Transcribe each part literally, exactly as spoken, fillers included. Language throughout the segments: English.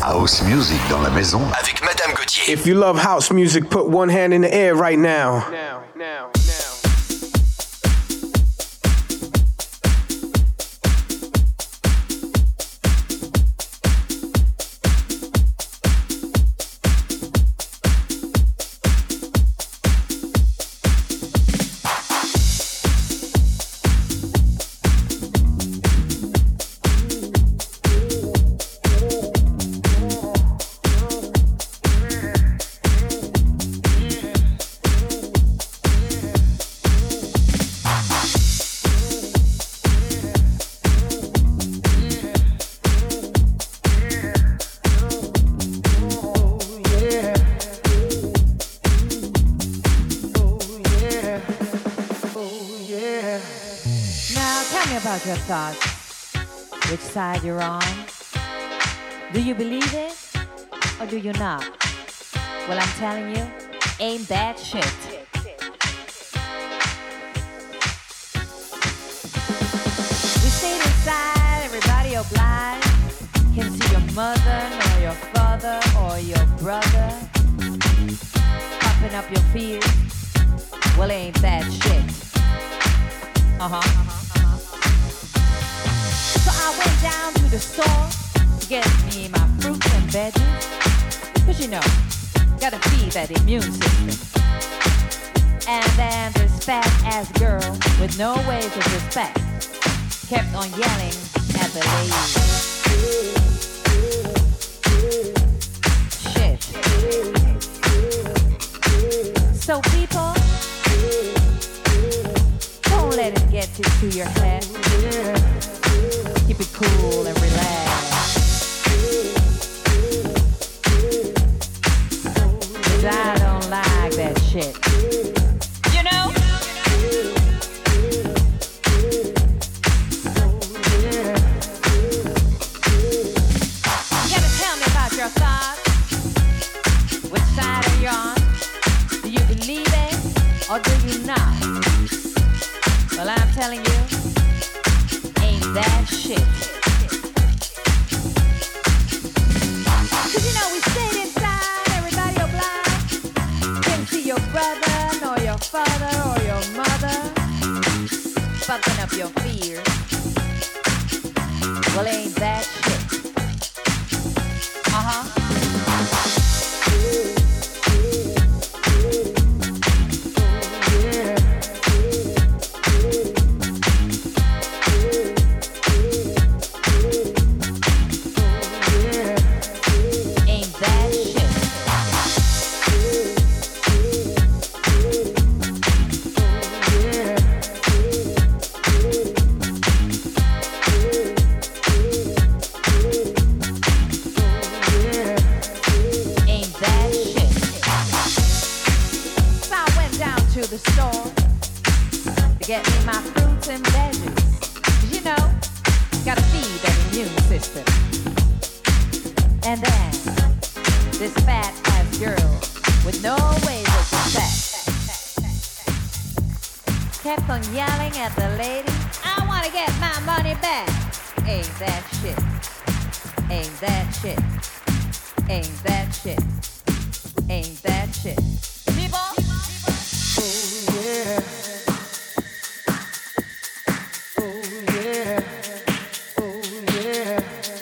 House music dans la maison avec Madame Gauthier. If you love house music, put one hand in the air right now. Now, now, now. Your thoughts, which side you're on. Do you believe it or do you not? Well, I'm telling you, ain't that shit. We stayed inside, everybody obliged. Can't see your mother, nor your father, or your brother. Popping up your fears. Well, ain't that shit. Uh-huh. So I went down to the store to get me my fruits and veggies. Cause you know, gotta feed that immune system. And then this fat ass girl with no ways of respect kept on yelling at the lady. Shit. So people, don't let it get into your head. Keep it cool and relax. Cause I don't like that shit. You know? You gotta tell me about your thoughts. Which side are you on? Do you believe it or do you not? Well, I'm telling you, that shit. Cause you know we stayed inside, everybody obliged. Couldn't see your brother, nor your father, or your mother. Bumping up your fears. Well, ain't that shit. Uh-huh. Kept on yelling at the lady, I wanna get my money back. Ain't that shit. Ain't that shit. Ain't that shit. Ain't that shit. People? Oh yeah. Oh yeah. Oh yeah.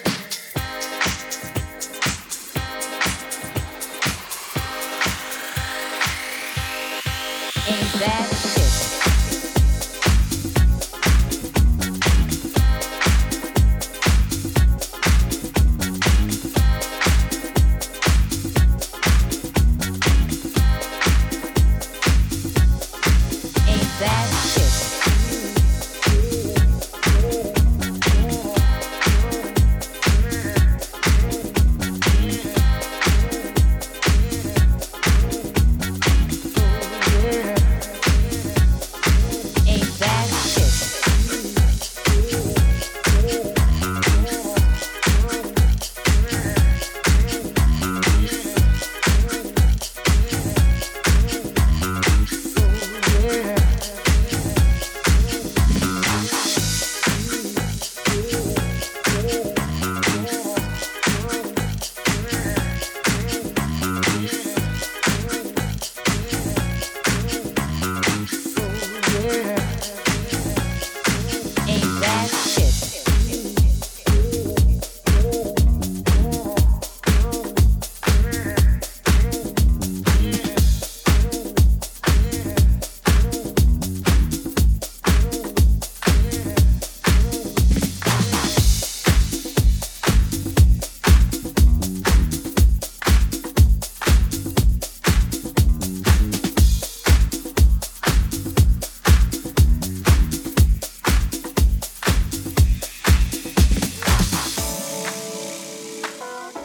Ain't that shit.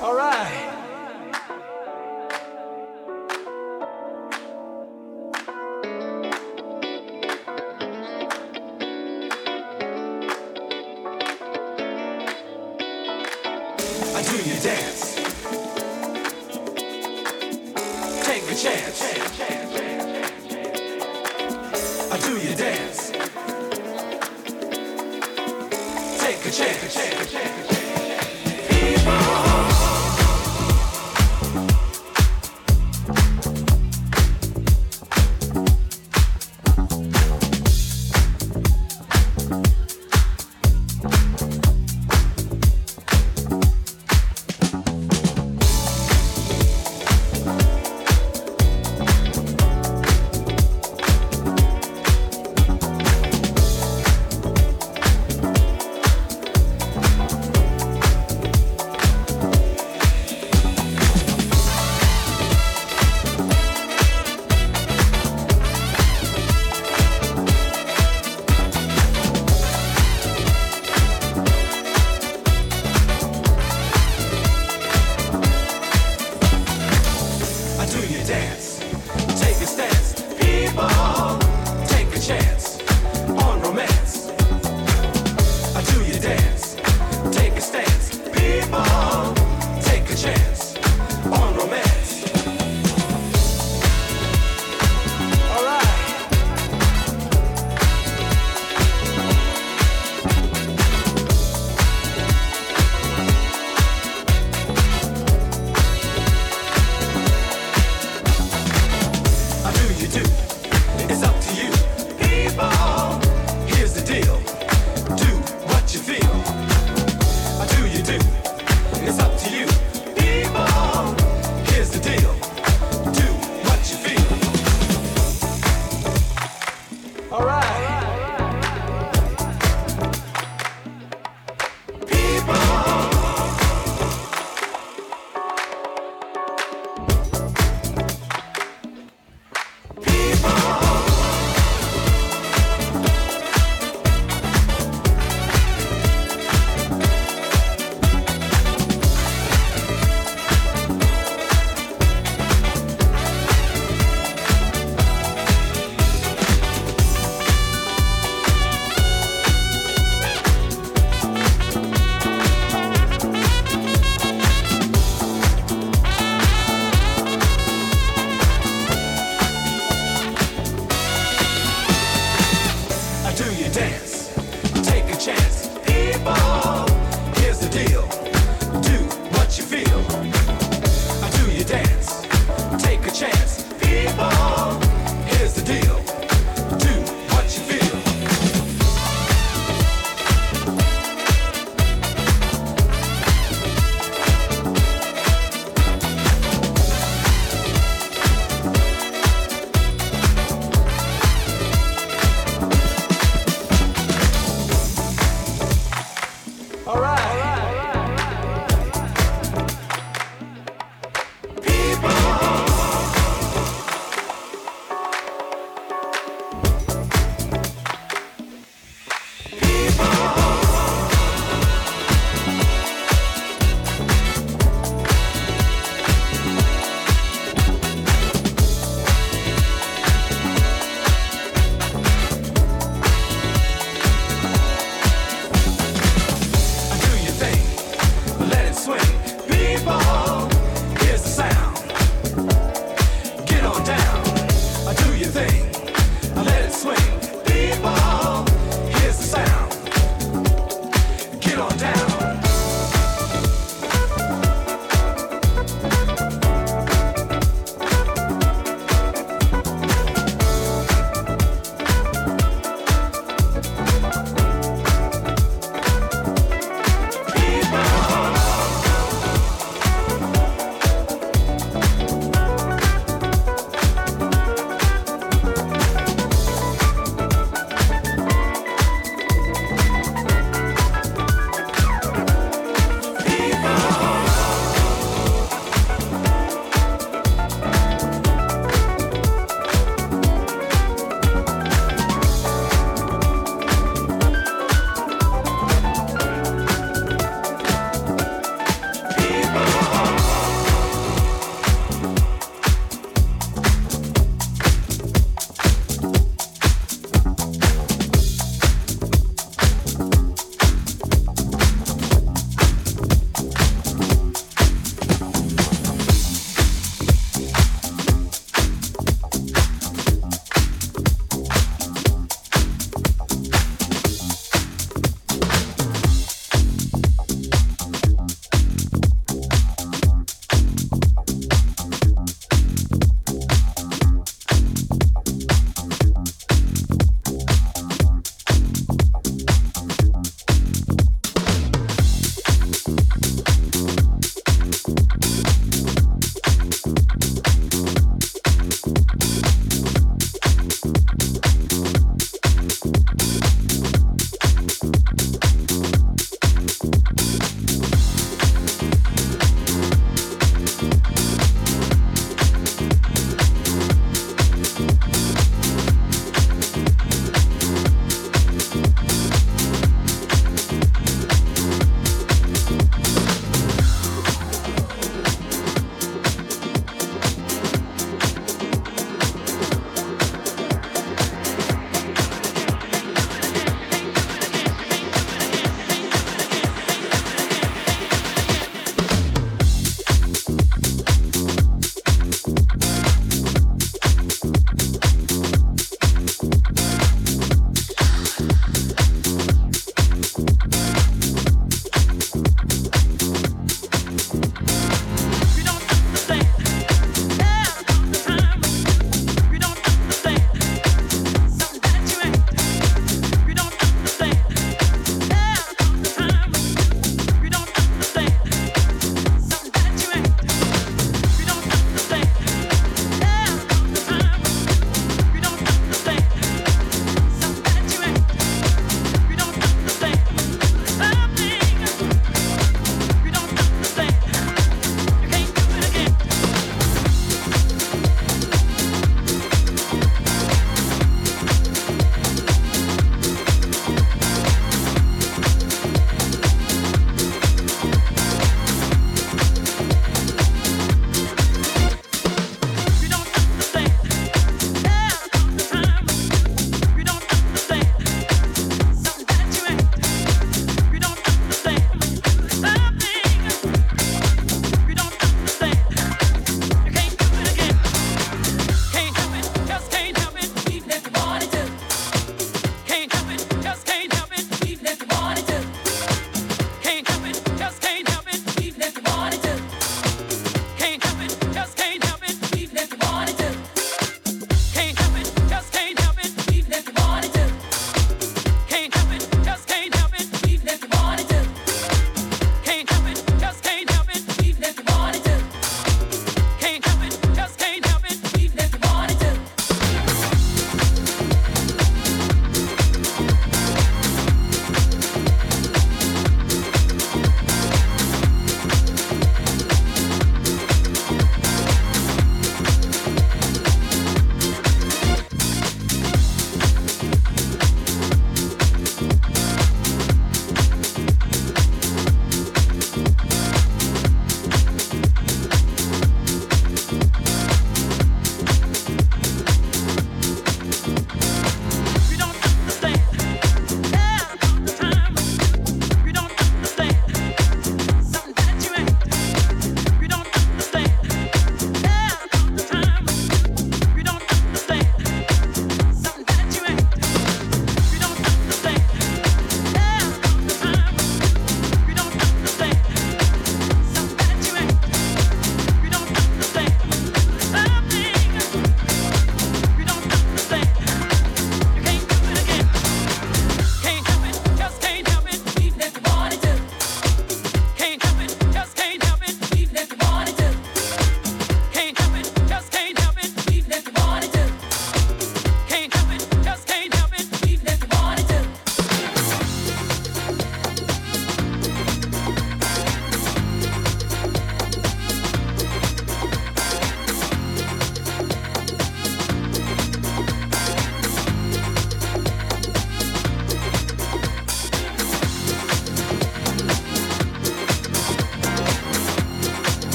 All right. I do you dance. Take a chance. I do you dance. Take a chance. People.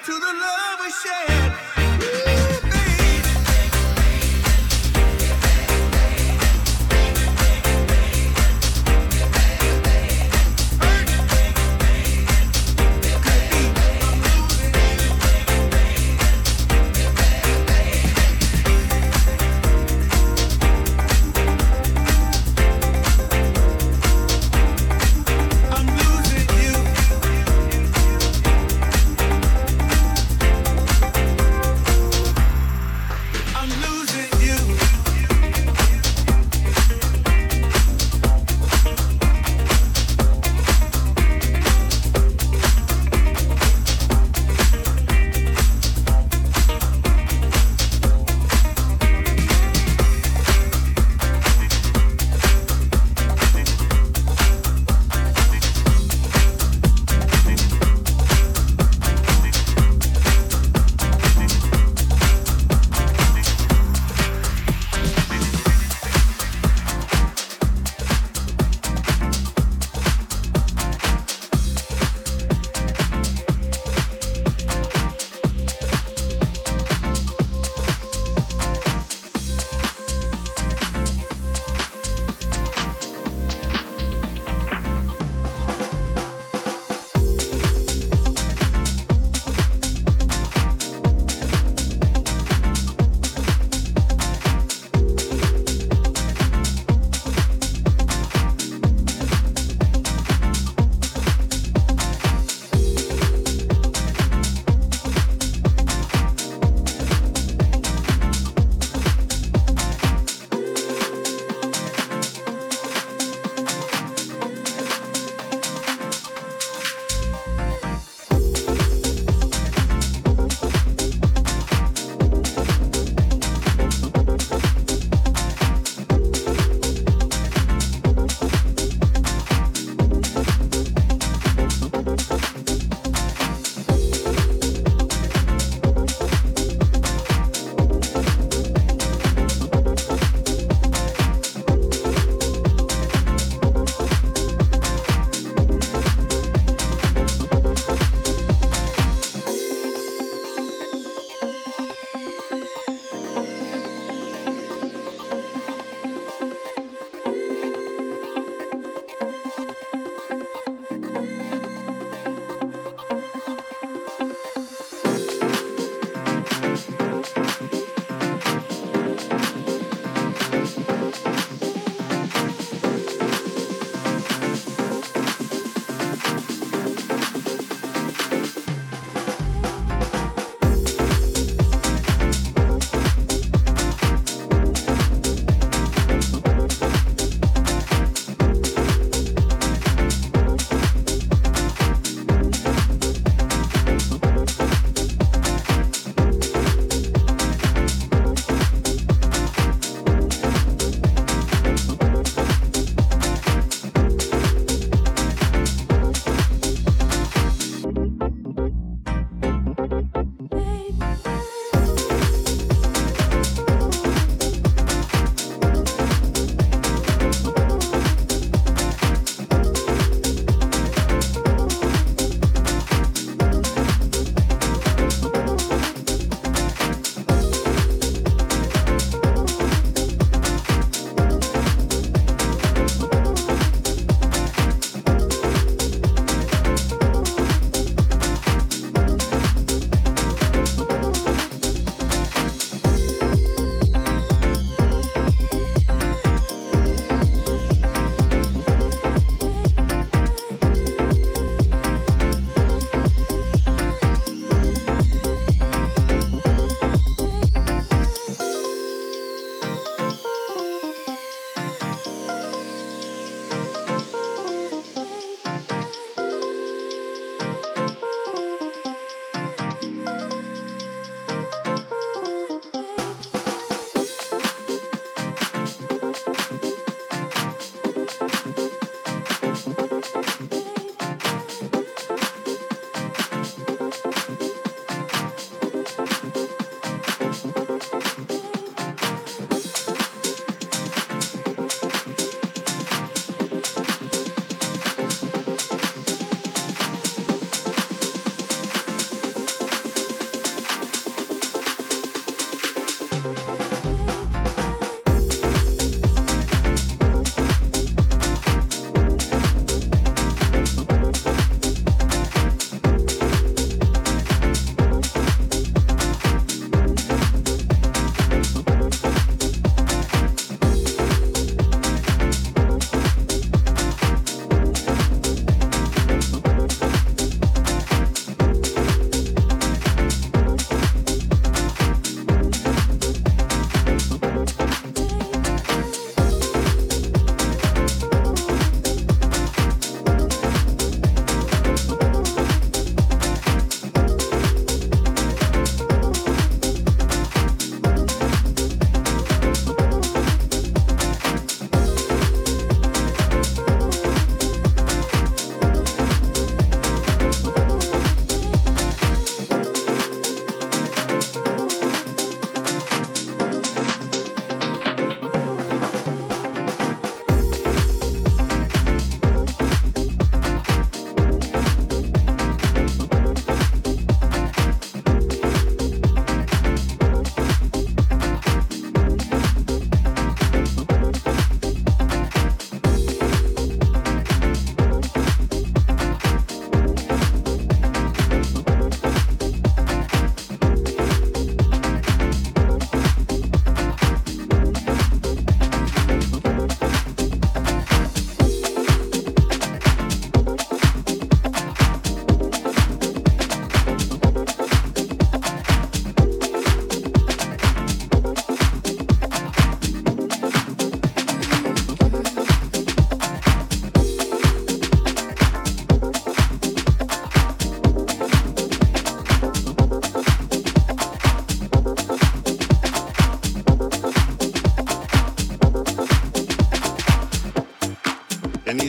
I'm losing you.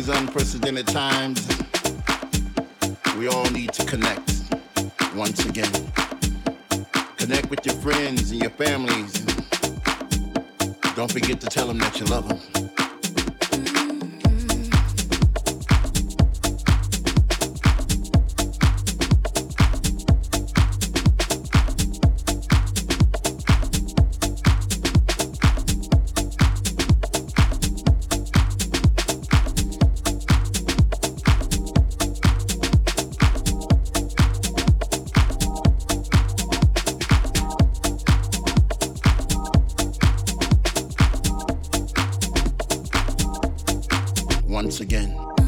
these unprecedented times, we all need to connect once again. Connect with your friends and your families. Don't forget to tell them that you love them. Once again.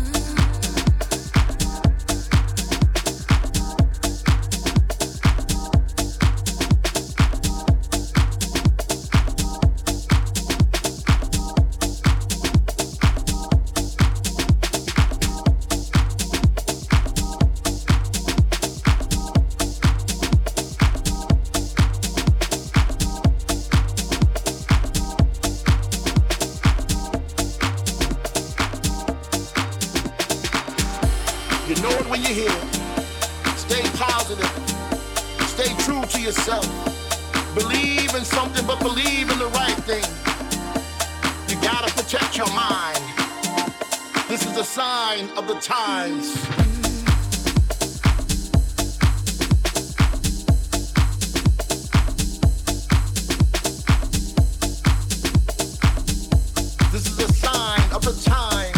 You know it when you hear it. Stay positive. Stay true to yourself. Believe in something, but believe in the right thing. You gotta protect your mind. This is a sign of the times. This is a sign of the times.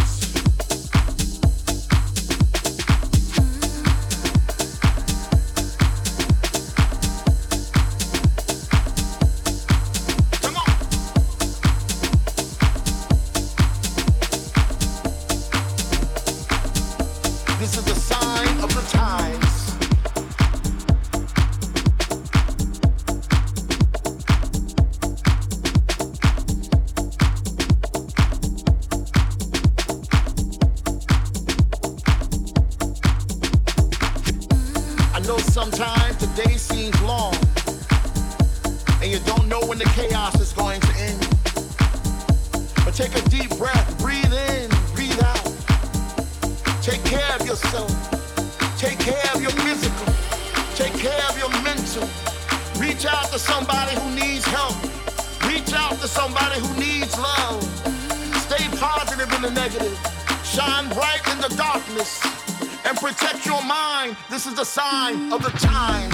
This is the sign of the times. I know sometimes the day seems long, and you don't know when the chaos is going to end. But take a deep breath, breathe in, breathe out. Take care of yourself. Take care of your physical. Take care of your mental. Reach out to somebody who needs help. Reach out to somebody who needs love. Stay positive in the negative. Shine bright in the darkness. And protect your mind. This is the sign of the times.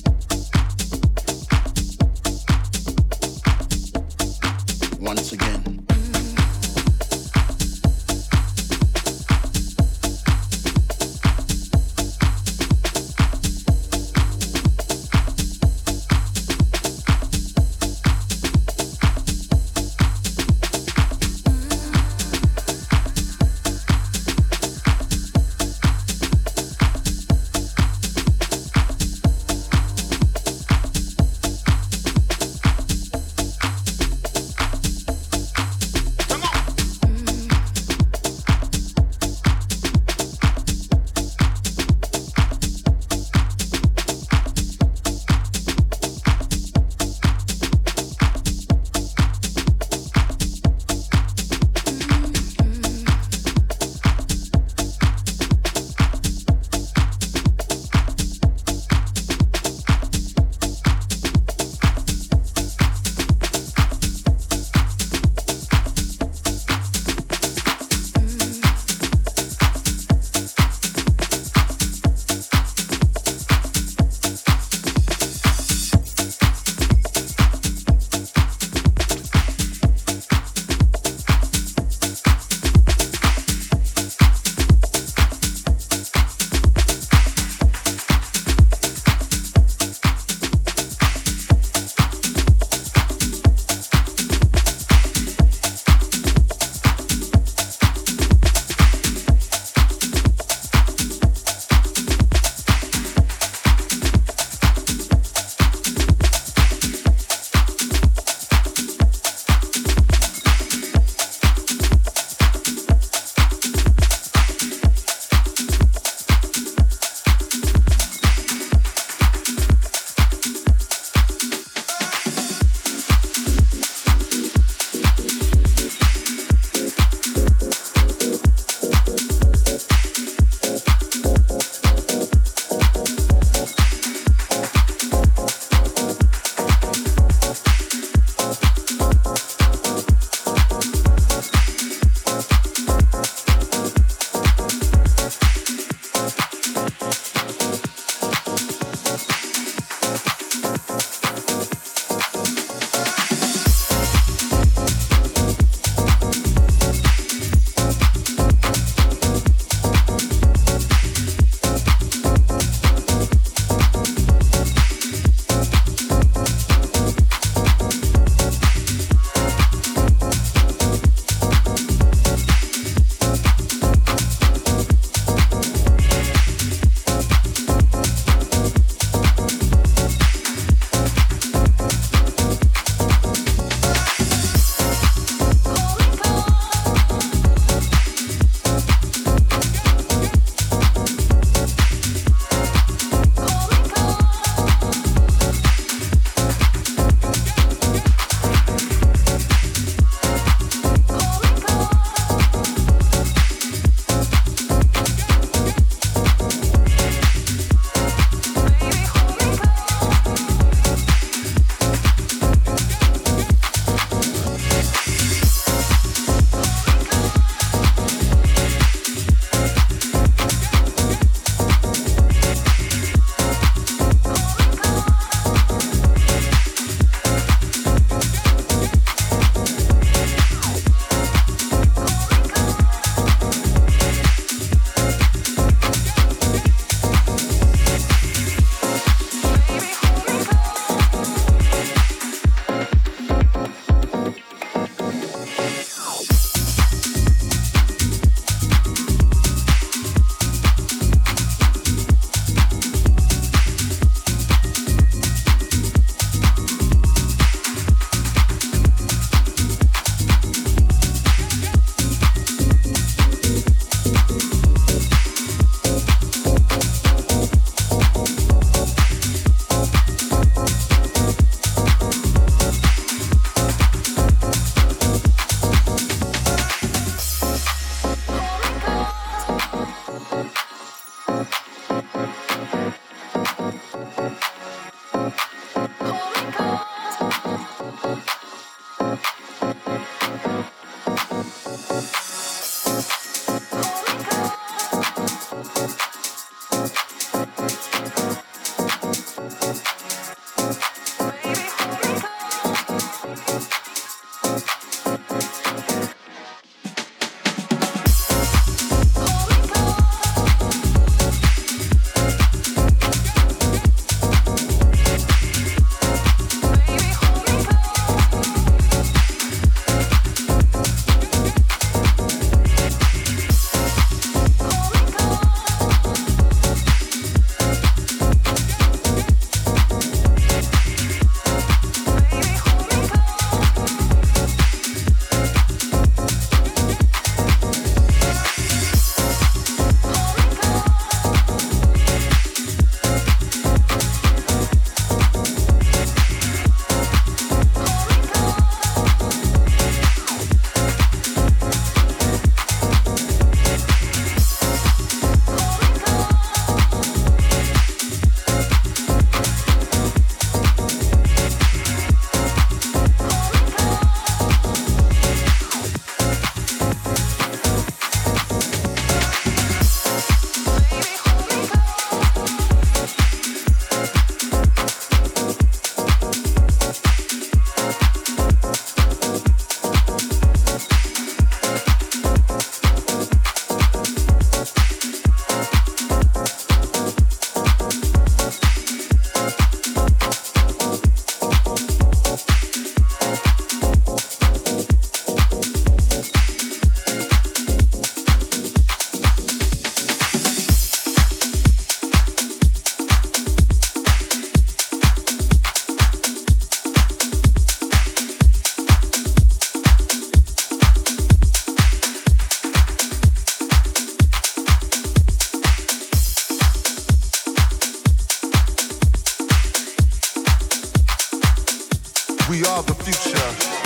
Once again. We are the future.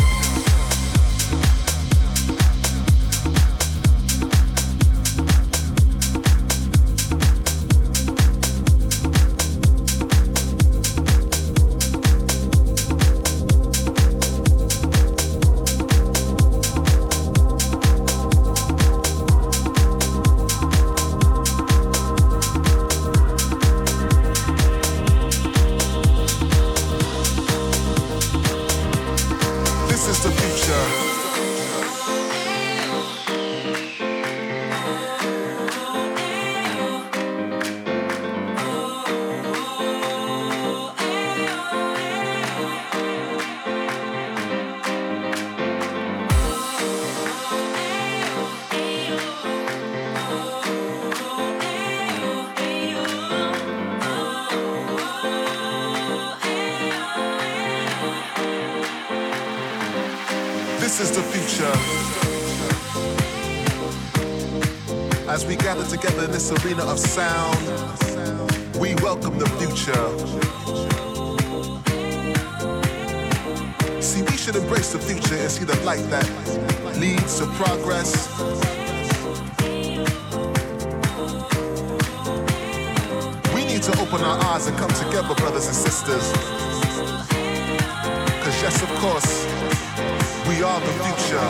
This is the future. As we gather together in this arena of sound, we welcome the future. See, we should embrace the future and see the light that leads to progress. We need to open our eyes and come together, brothers and sisters. Cause yes, of course, we are the future.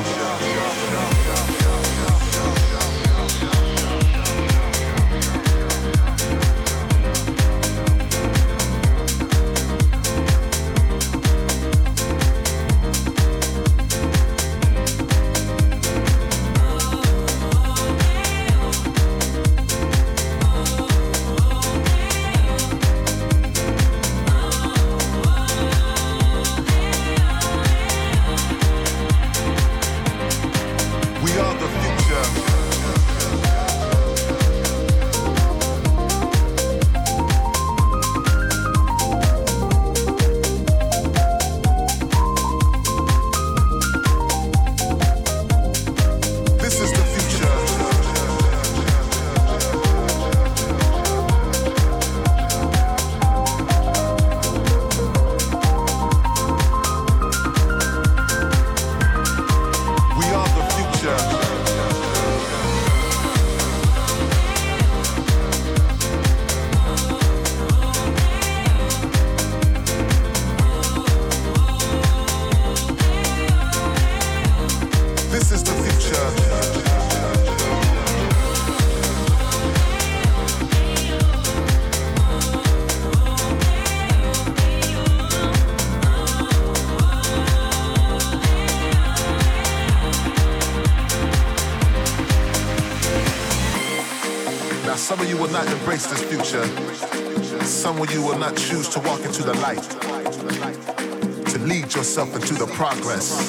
Some of you will not embrace this future. Some of you will not choose to walk into the light, to lead yourself into the progress.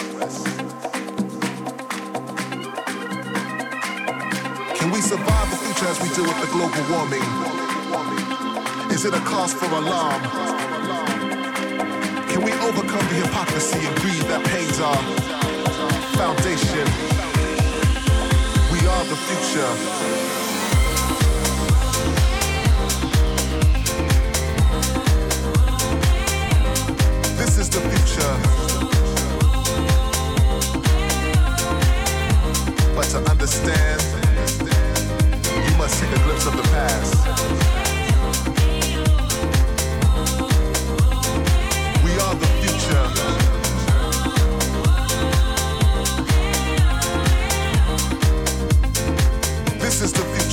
Can we survive the future as we deal with the global warming? Is it a cause for alarm? Can we overcome the hypocrisy and greed that pains our foundation? We are the future. This is the future. But to understand, you must take a glimpse of the past. We are the future. This is the future.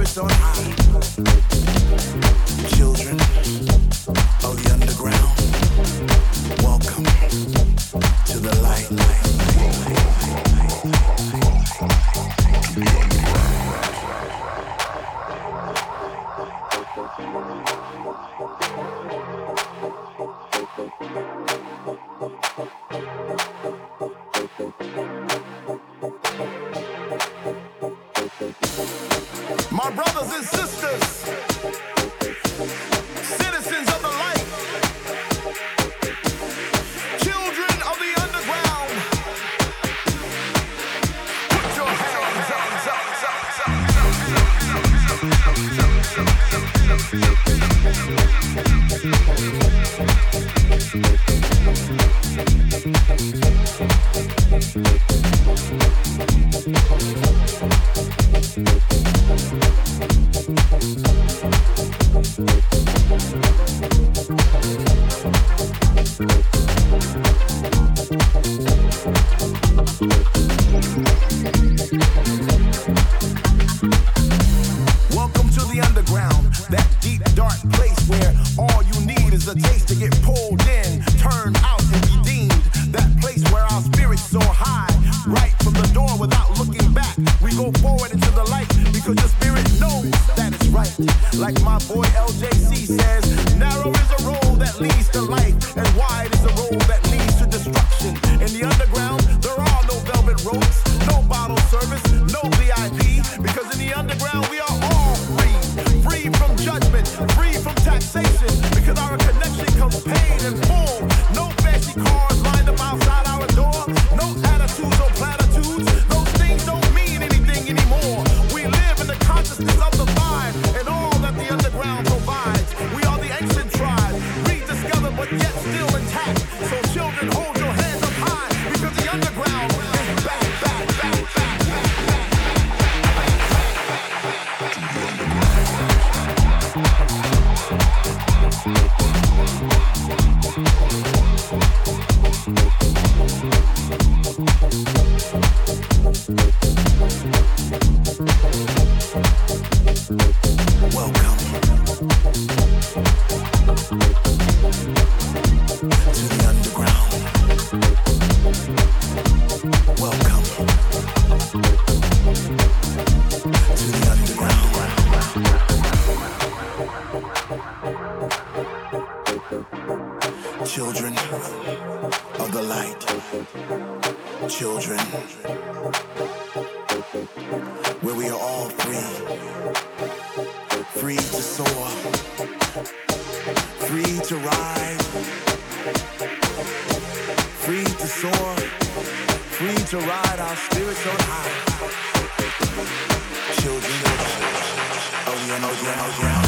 spirits on high. Children of the underground, welcome to the light. My brothers and sisters, citizens of the light, children of the underground, put your hands up, welcome to the underground, that deep, dark place where all you need is a taste to get pulled in, turned out and redeemed. That place where our spirits soar high, right from the door without looking back. We go forward into the light because the spirit knows that it's right. Like my boy L J C says, narrow is a road that leads to life, and wide is a road that leads to destruction. In the underground, there are no velvet ropes, no bottle service, no V I P, because in the underground we are all free, free from judgment, free from taxation, because our connection comes paid in full. No fancy cars lined up outside our door, no attitudes or platitudes. Those things don't mean anything anymore. We live in the consciousness of the vine and all that the underground provides. We are the ancient tribe, rediscovered but yet still intact. So children, hold your hands up high, because the underground is back, back, back, back, back, Welcome to the underground. Welcome to the underground. Children of the light. Children where we are all free. Free to soar, free to ride, free to soar, free to ride our spirits on high. Children of the underground.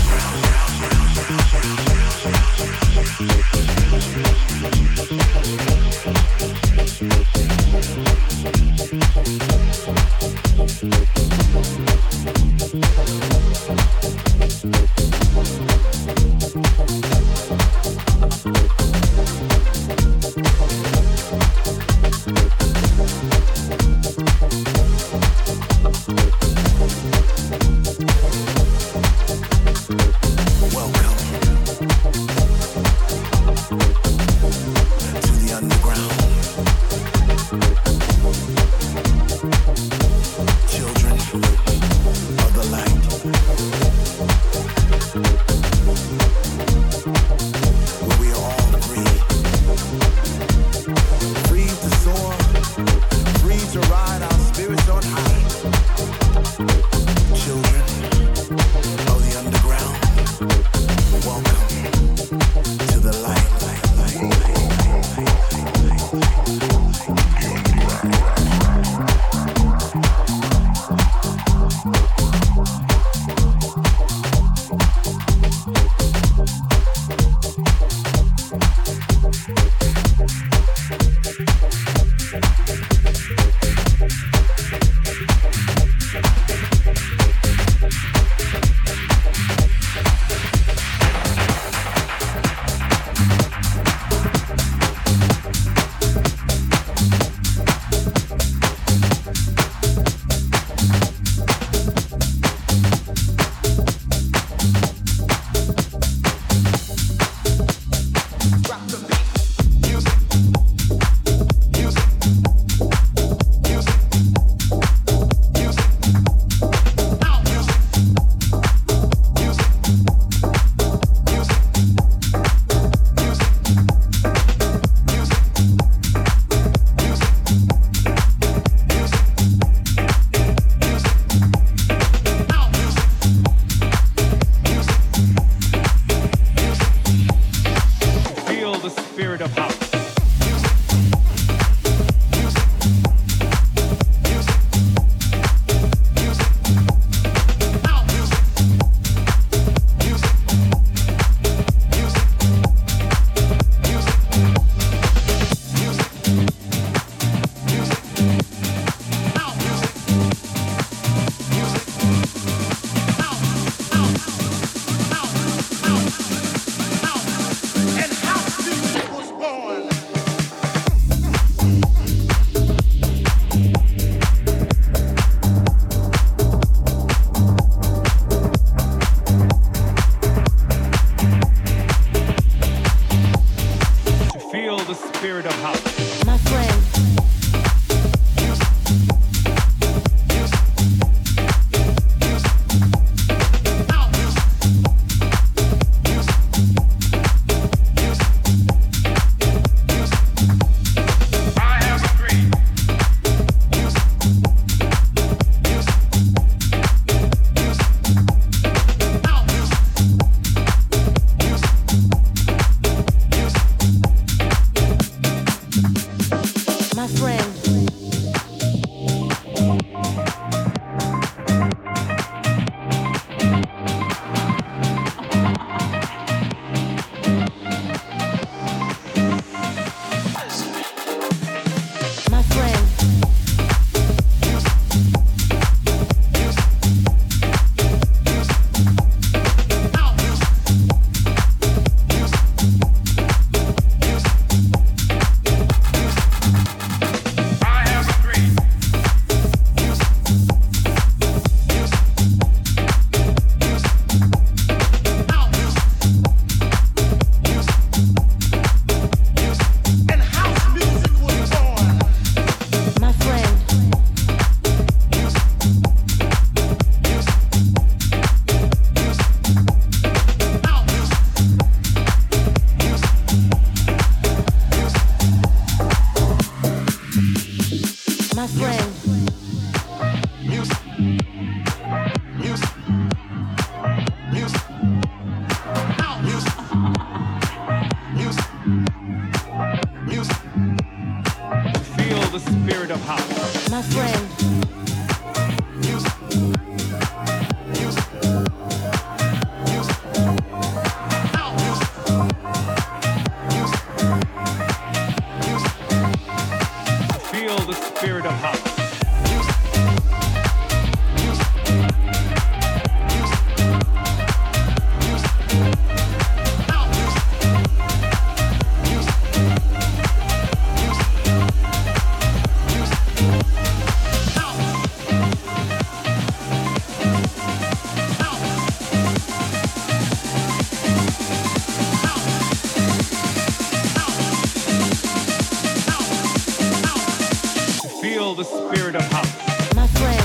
Children of the light. the spirit of house. My friend.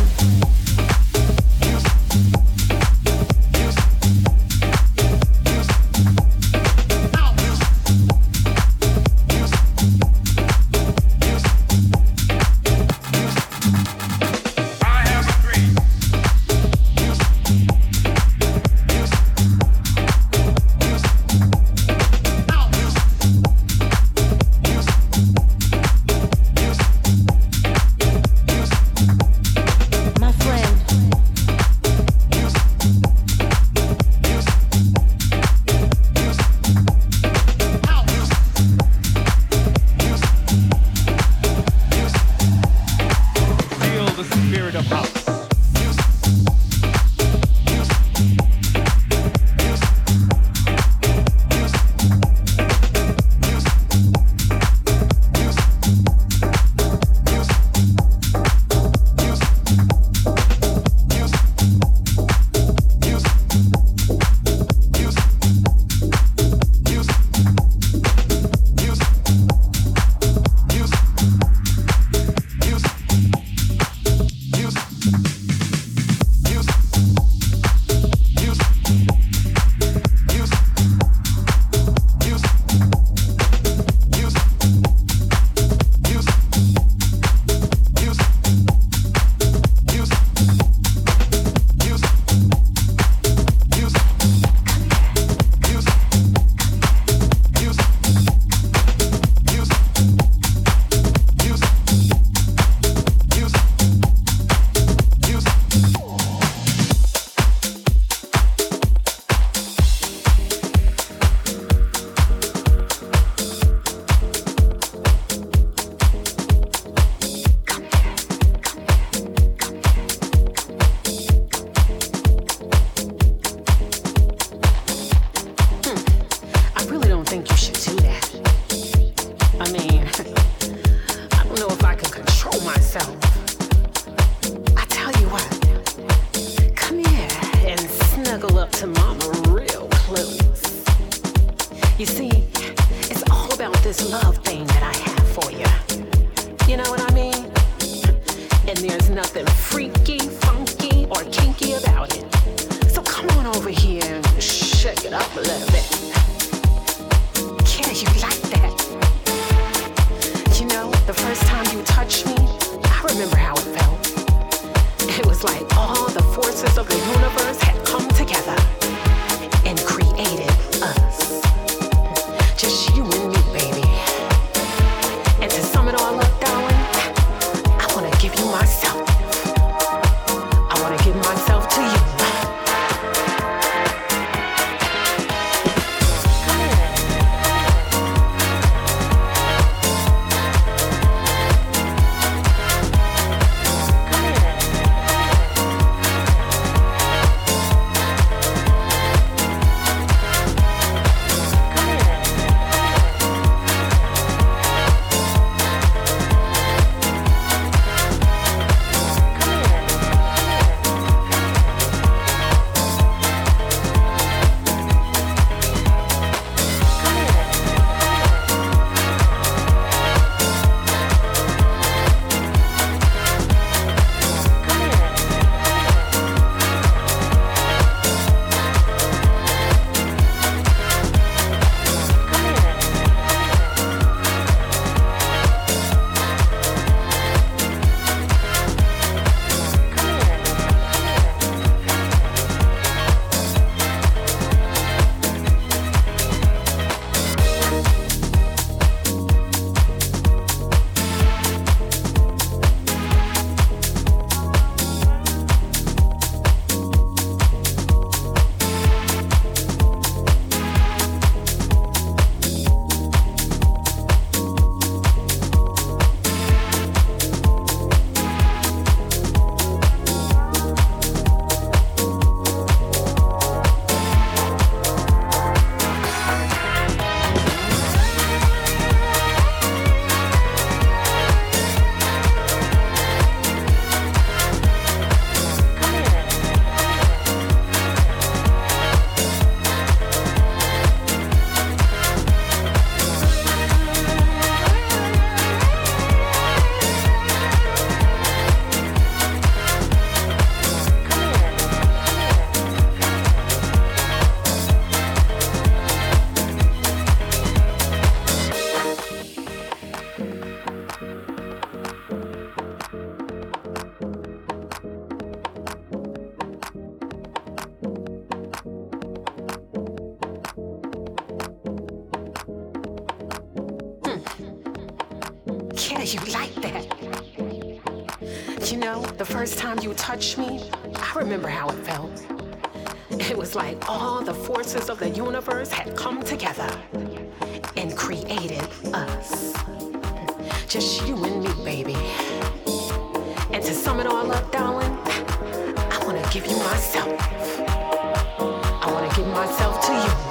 Yeah, you like that. You know, the first time you touched me, I remember how it felt. It was like all the forces of the universe had come together and created us. Just you and me, baby. And to sum it all up, darling, I want to give you myself. I want to give myself to you.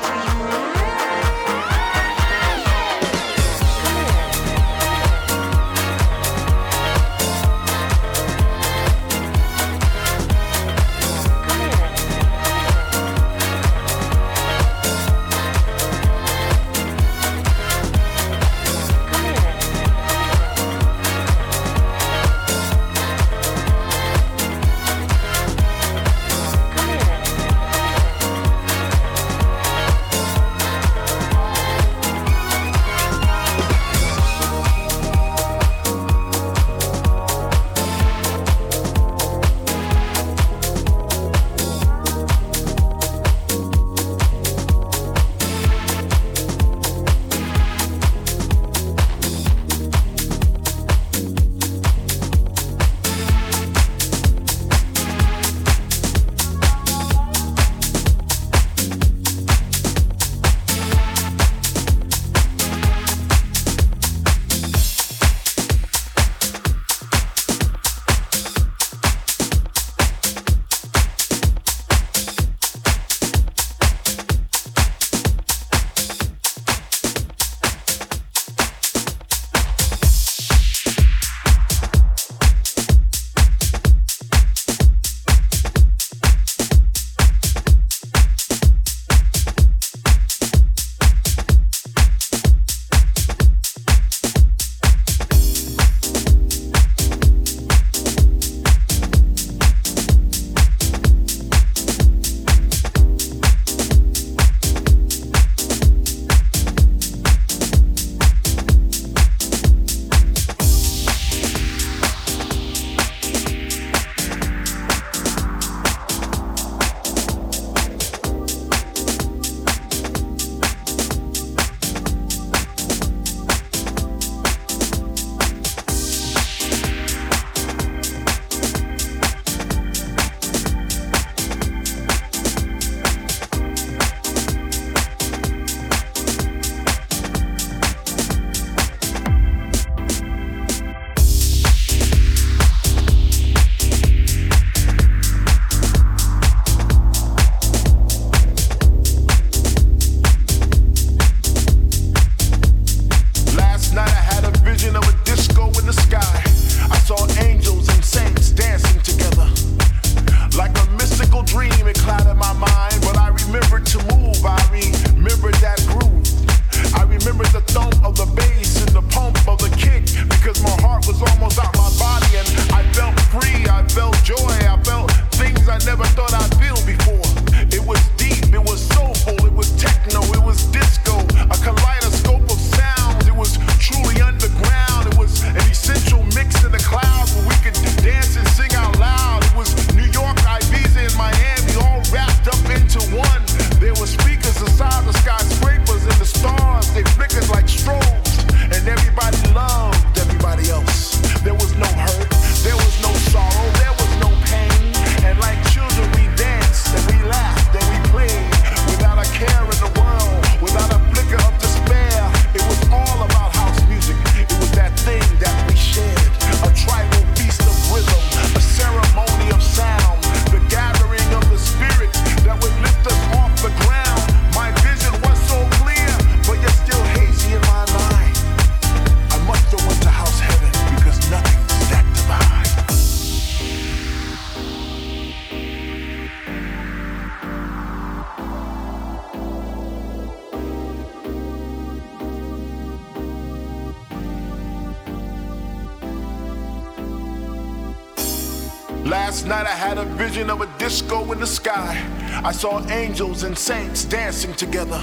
Last night I had a vision of a disco in the sky. I saw angels and saints dancing together.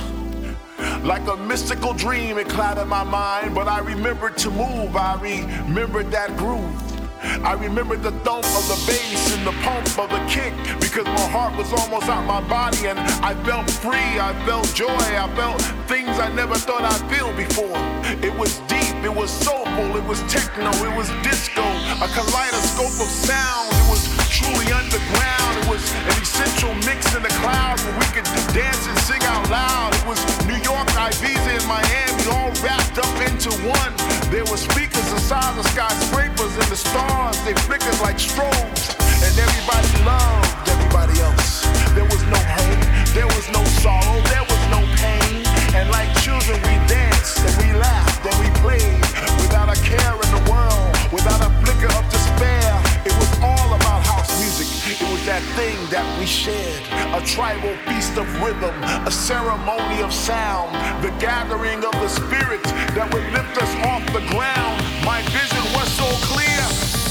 Like a mystical dream, it clouded my mind, but I remembered to move. I remembered that groove. I remembered the thump of the bass and the pump of the kick, because my heart was almost out my body and I felt free, I felt joy, I felt things I never thought I'd feel before. It was deep, it was soulful, it was techno, it was disco, a kaleidoscope of sound. It was truly underground. It was an essential mix in the clouds where we could dance and sing out loud. It was New York, Ibiza, and Miami all wrapped up into one. There were speakers inside the skyscrapers and the stars, they flickered like strobes. And everybody loved everybody else. There was no hurt, there was no sorrow, there was no pain. And like children we danced and we laughed and we played without a care in the world, without a flicker of despair. It was all about house music. It was that thing that we shared, a tribal feast of rhythm, a ceremony of sound, the gathering of the spirits that would lift us off the ground. My vision was so clear.